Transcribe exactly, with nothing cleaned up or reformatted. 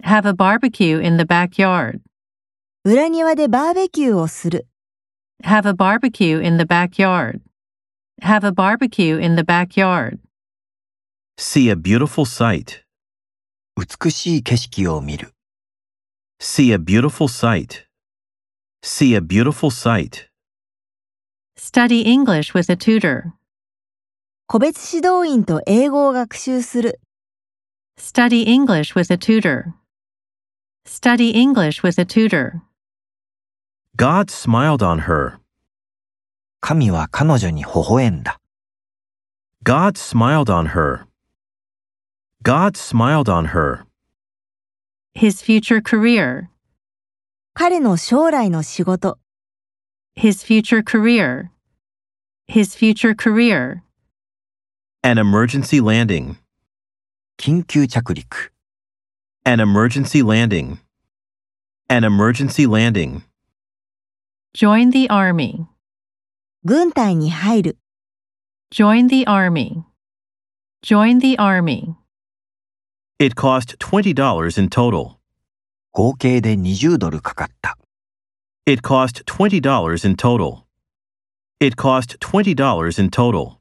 Have a barbecue in the backyard. 裏庭でバーベキューをする。 Have a barbecue in the backyard. Have a barbecue in the backyard. See a beautiful sight. 美しい景色を見る。 See a beautiful sight. See a beautiful sight. Study English with a tutor. 個別指導員と英語を学習する。 Study English with a tutor. Study English with a tutor. God smiled on her. 神は彼女に微笑んだ。 God smiled on her. God smiled on her. His future career. 彼の将来の仕事。 His future career. His future career. An emergency landing. 緊急着陸。 An emergency landing. An emergency landing. Join the army. 軍隊に入る。 Join the army. Join the army. It cost twenty dollars in total. 合計でにじゅうドルかかった。 It cost twenty dollars in total. It cost twenty dollars in total.